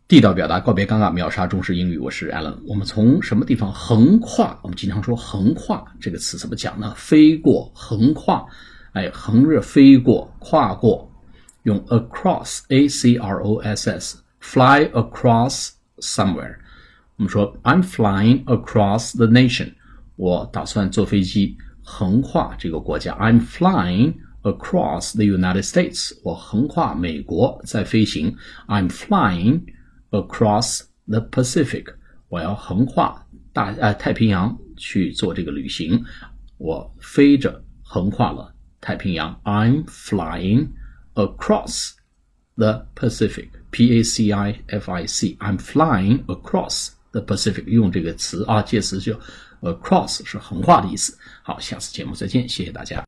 地道表达，告别尴尬，秒杀中式英语。我是 Alan。我们从什么地方横跨？我们经常说横跨这个词怎么讲呢？飞过，横跨，横着飞过，跨过，用 across A-C-R-O-S-S fly across somewhere。我们说 I'm flying across the nation， 我打算坐飞机横跨这个国家。I'm flying across the United States， 我横跨美国在飞行。I'm flying across the Pacific， 我要横跨太平洋去做这个旅行，我飞着横跨了太平洋。I'm flying across the Pacific， P-A-C-I-F-I-C， I'm flying across the Pacific， 用这个词介词就 across 是横跨的意思。好，下次节目再见，谢谢大家。